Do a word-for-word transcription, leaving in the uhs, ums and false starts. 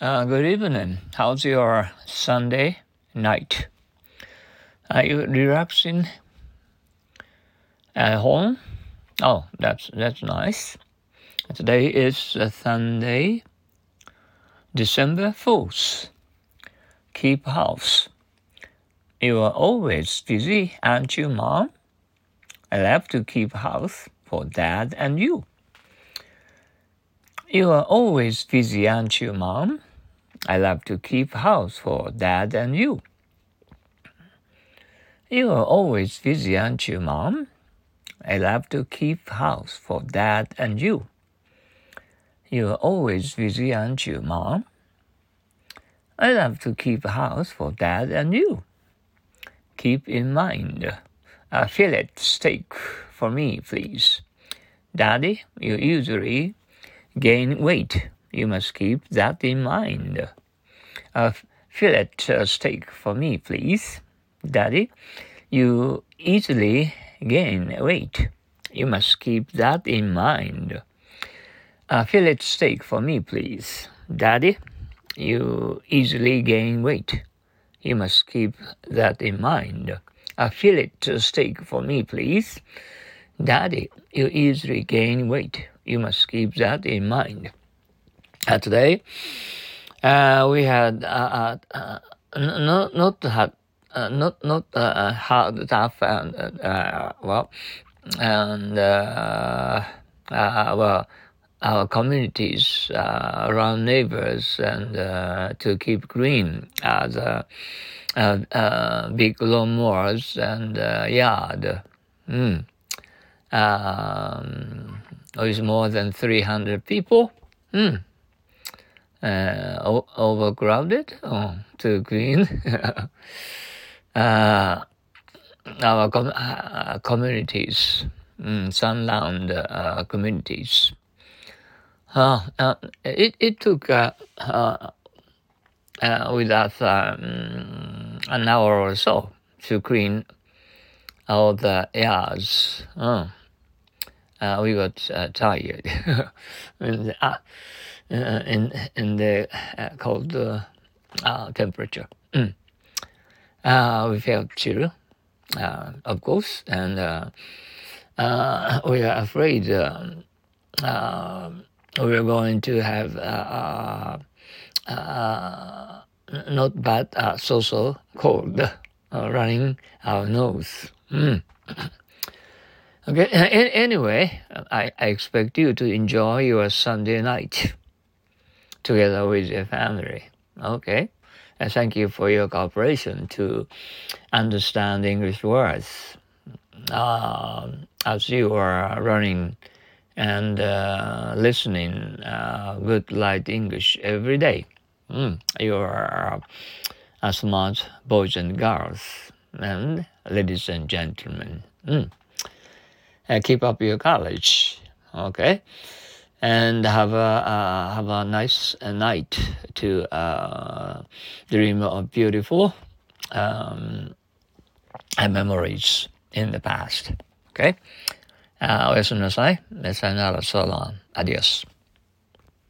Uh, good evening. How's your Sunday night? Are you relaxing at home? Oh, that's that's nice. Today is uh, Sunday, December fourth. Keep house. You are always busy, aren't you, Mom? I love to keep house for Dad and you. You are always busy, aren't you, Mom? I love to keep house for Dad and you. You are always busy, aren't you, Mom? I love to keep house for Dad and you. You are always busy, aren't you, Mom? I love to keep house for Dad and you. Keep in mind, a fillet steak for me, please. Daddy, you usually gain weight. You must keep that in mind. A fillet steak for me, please. Daddy, you easily gain weight. You must keep that in mind. A fillet steak for me, please. Daddy, you easily gain weight. You must keep that in mind. A fillet steak for me, please. Daddy, you easily gain weight. You must keep that in mind. Uh, today, uh, we had uh, uh, not not had uh, not not uh, hard tough and uh, well and uh, uh, well our communities, uh, around neighbors, and uh, to keep green as uh, uh, uh, big lawnmowers and uh, yard. Mm. Um, with more than three hundred people. Mm. Uh, o- overcrowded? Oh, too green. uh, our com- uh, communities, mm, sunland uh, communities. Uh, uh, it, it took uh, uh, uh, with us um, an hour or so to clean all the yards. Oh. Uh, we got uh, tired in, uh, in in the uh, cold uh, uh, temperature. Mm. Uh, we felt chill, uh, of course, and uh, uh, we are afraid um, uh, we are going to have uh, uh, not bad, uh, so-so cold uh, running our nose. Mm. Okay. Anyway, I, I expect you to enjoy your Sunday night together with your family. Okay. And thank you for your cooperation to understand English words uh, as you are running and uh, listening uh, good light English every day. Mm. You are uh, smart boys and girls and ladies and gentlemen. Mm. Uh, keep up your courage, okay, and have a uh, have a nice uh, night to uh, dream of beautiful um, memories in the past. Okay, uh, oやすみなさい。さよなら、so long, adios.